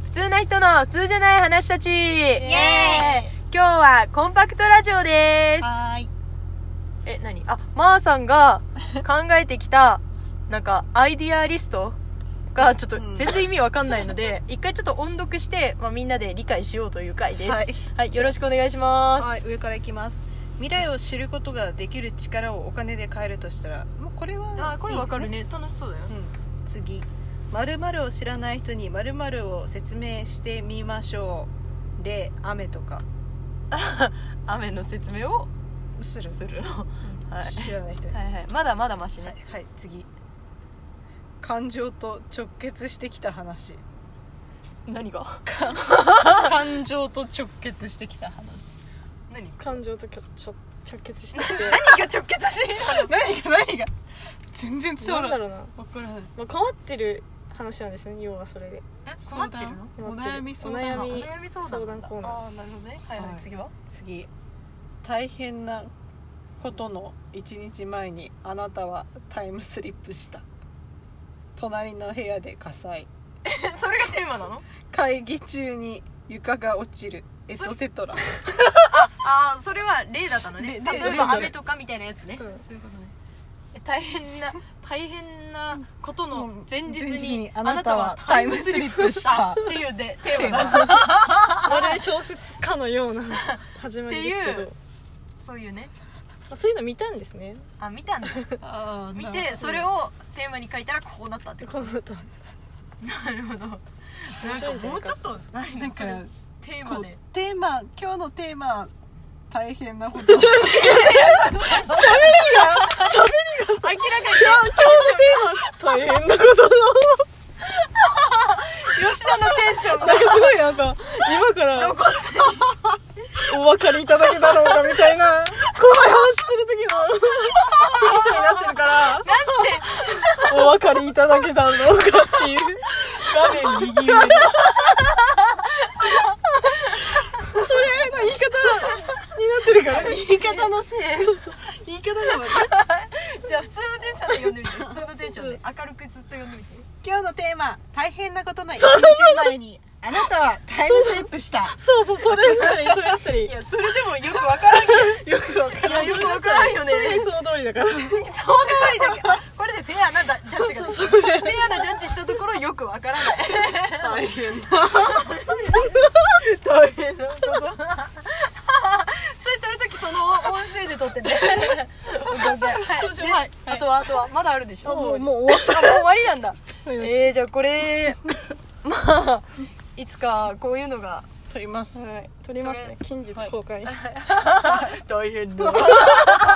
普通な人の普通じゃない話たち。イエーイ。今日はコンパクトラジオです。 はーい。 何？まーさんが考えてきたなんかアイディアリストがちょっと全然意味わかんないので、一回ちょっと音読して、みんなで理解しようという回です。はい、よろしくお願いします。 はい、上からいきます。未来を知ることができる力をお金で買えるとしたら、もうこれは、 これわかるね。楽しそうだよ。 次、〇〇を知らない人に〇〇を説明してみましょう。で、雨とか雨の説明をするの、はい、 知らない人に、 はいはい、まだまだマシね。 はい、次、感情と直結してきた話。 何が感情と直結してきた話。 何？ 感情と直結してきて何が直結してきたの？ 何が全然伝わらない。 なんだろうな、 分からない。 困ってる話なんですね、要はそれで。 困ってるの？ お悩み相談お悩み相談コーナー。 なるほどね。はいはい、次は？ 次、大変なことの1日前にあなたはタイムスリップした。隣の部屋で火災。 それがテーマなの？ 会議中に床が落ちる、エトセトラ。 それは例だったのね。例えば雨とかみたいなやつね。そういうことね。大変なことの前日にあなたはタイムスリップしたっていうテーマだ。 まるで小説家のような始まりですけど、 そういうね。 そういうの見たんですね。 見たんだ。見てそれをテーマに書いたらこうなったってこと。 こうなった。 なるほど。なんかもうちょっとなんかテーマで。 今日のテーマ、大変なこと。 喋りが明らかに今日のテーマ大変なことの吉田のテンションがすごい今からお分かりいただけだろうかみたいな怖い話する時のテンションになってるから、なんでお分かりいただけたろうかっていう画面右上のそれの言い方になってるから、 言い方のせい。言い方が悪い。じゃあ普通のテンションで読んでみて。普通のテンションで明るくずっと読んでみて。 今日のテーマ、大変なことの1日前にあなたはタイムスリップした。 そうそれだったりいや、それでもよくわからんけど。 よくわからん。 よくわからんよね。 いつも通りだから。 いつも通りだけど、これでフェアなジャッジができる。フェアなジャッジしたところよくわからない。 大変なこと。それ撮るときその音声で撮ってね。はい。あとはまだあるでしょ。 もう終わった。もう終わりなんだ。じゃあこれいつかこういうのが撮ります。 はい、撮りますね。近日公開。 大変だ。